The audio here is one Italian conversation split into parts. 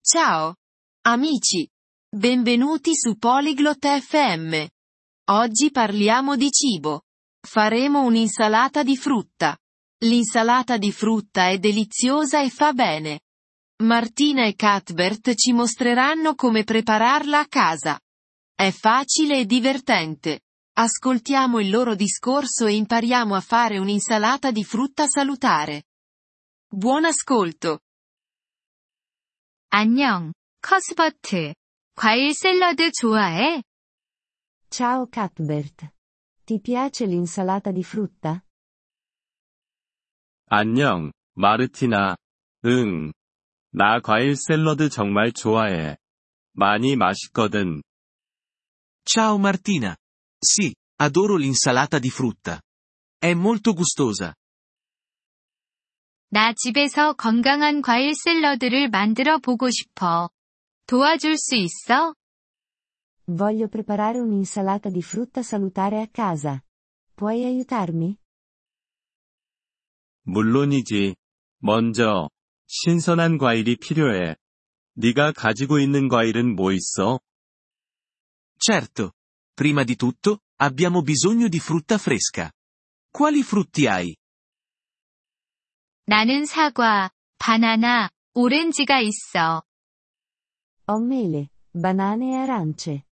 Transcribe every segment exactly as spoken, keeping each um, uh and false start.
Ciao, amici. Benvenuti su Polyglot F M. Oggi parliamo di cibo. Faremo un'insalata di frutta. L'insalata di frutta è deliziosa e fa bene. Martina e Cuthbert ci mostreranno come prepararla a casa. È facile e divertente. Ascoltiamo il loro discorso e impariamo a fare un'insalata di frutta salutare. Buon ascolto. 안녕, 커스버트. 과일 샐러드 좋아해? Ciao Cuthbert. Ti piace l'insalata di frutta? 안녕, 마르티나. 응. 나 과일 샐러드 정말 좋아해. 많이 맛있거든. Ciao Martina. Sì, adoro l'insalata di frutta. È molto gustosa. 나 집에서 건강한 과일 샐러드를 만들어 보고 싶어. 도와줄 수 있어? Voglio preparare un'insalata di frutta salutare a casa. Puoi aiutarmi? 물론이지. 먼저, 신선한 과일이 필요해. 네가 가지고 있는 과일은 뭐 있어? Certo. Prima di tutto, abbiamo bisogno di frutta fresca. Quali frutti hai? 나는 사과, 바나나, 오렌지가 있어. Ho mele, banane e arance.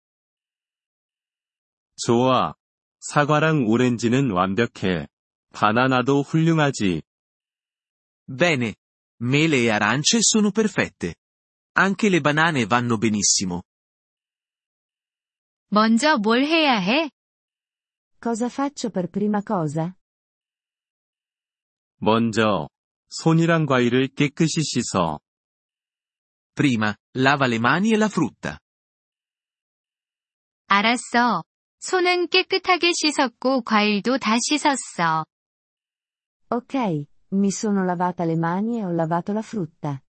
좋아. 사과랑 오렌지는 완벽해. 바나나도 훌륭하지. Bene. Mele e arance sono perfette. Anche le banane vanno benissimo. 먼저 뭘 해야 해? Cosa faccio per prima cosa? 먼저, 손이랑 과일을 깨끗이 씻어. Prima, lava le mani e la frutta. 알았어. 손은 깨끗하게 씻었고 과일도 다 씻었어. Ok, mi sono lavata le mani e ho lavato la frutta.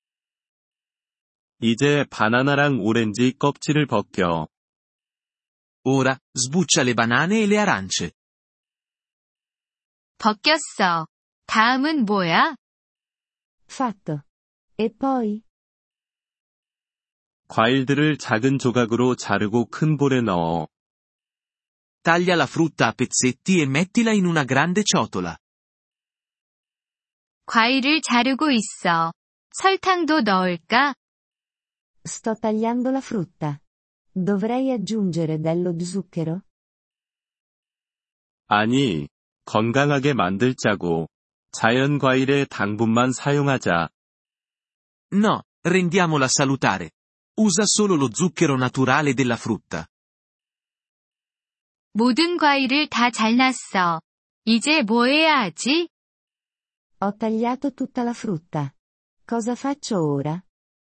이제 바나나랑 오렌지 껍질을 벗겨. Ora, sbuccia le banane e le arance. 벗겼어. 다음은 뭐야? Fatto. E poi? 과일들을 작은 조각으로 자르고 큰 볼에 넣어. Taglia la frutta a pezzetti e mettila in una grande ciotola. 과일을 자르고 있어. 설탕도 넣을까? Sto tagliando la frutta. Dovrei aggiungere dello zucchero? 아니, 건강하게 만들자고. 자연 과일의 당분만 사용하자. No, rendiamola salutare. Usa solo lo zucchero naturale della frutta. 모든 과일을 다 잘랐어. 이제 뭐 해야 하지? Ho tagliato tutta la frutta. Cosa faccio ora?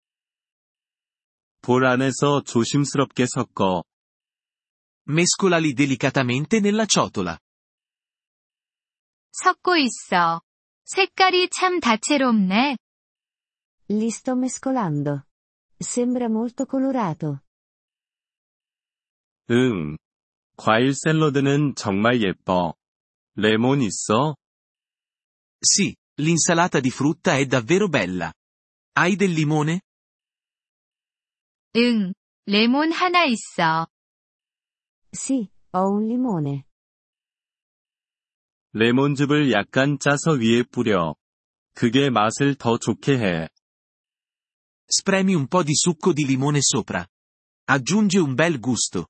볼 안에서 조심스럽게 섞어. Mescolali delicatamente nella ciotola. 섞고 있어. 색깔이 참 다채롭네. Li sto mescolando. Sembra molto colorato. 응. 과일 샐러드는 정말 예뻐. 레몬 있어? Sì, l'insalata di frutta è davvero bella. Hai del limone? 응, 레몬 하나 있어. Sì, ho un limone. 레몬즙을 약간 짜서 위에 뿌려. 그게 맛을 더 좋게 해. Spremi un po' di succo di limone sopra. Aggiunge un bel gusto.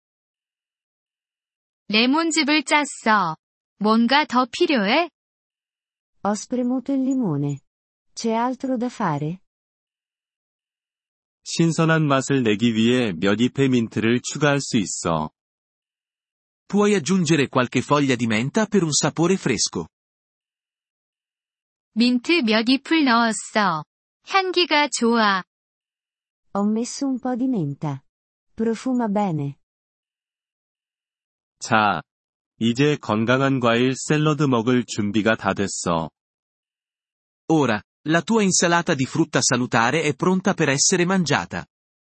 레몬즙을 짰어. 뭔가 더 필요해? Ho spremuto il limone. C'è altro da fare? 신선한 맛을 내기 위해 몇 잎의 민트를 추가할 수 있어. Puoi aggiungere qualche foglia di menta per un sapore fresco. 민트 몇 잎을 넣었어. 향기가 좋아. Ho messo un po' di menta. Profuma bene. 자, 이제 건강한 과일 샐러드 먹을 준비가 다 됐어. Ora, la tua insalata di frutta salutare è pronta per essere mangiata.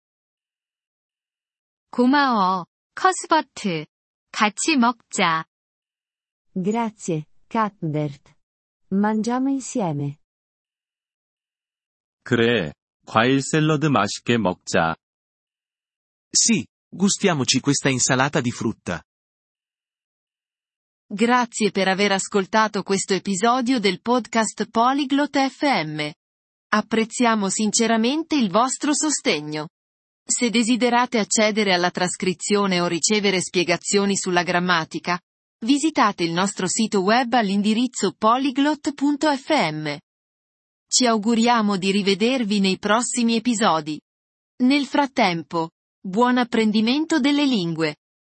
고마워, 커스버트. 같이 먹자. Grazie, Cuthbert. Mangiamo insieme. 그래, 과일 샐러드 맛있게 먹자. Sì, gustiamoci questa insalata di frutta. Grazie per aver ascoltato questo episodio del podcast Polyglot F M. Apprezziamo sinceramente il vostro sostegno. Se desiderate accedere alla trascrizione o ricevere spiegazioni sulla grammatica, visitate il nostro sito web all'indirizzo polyglot punto f m. Ci auguriamo di rivedervi nei prossimi episodi. Nel frattempo, buon apprendimento delle lingue.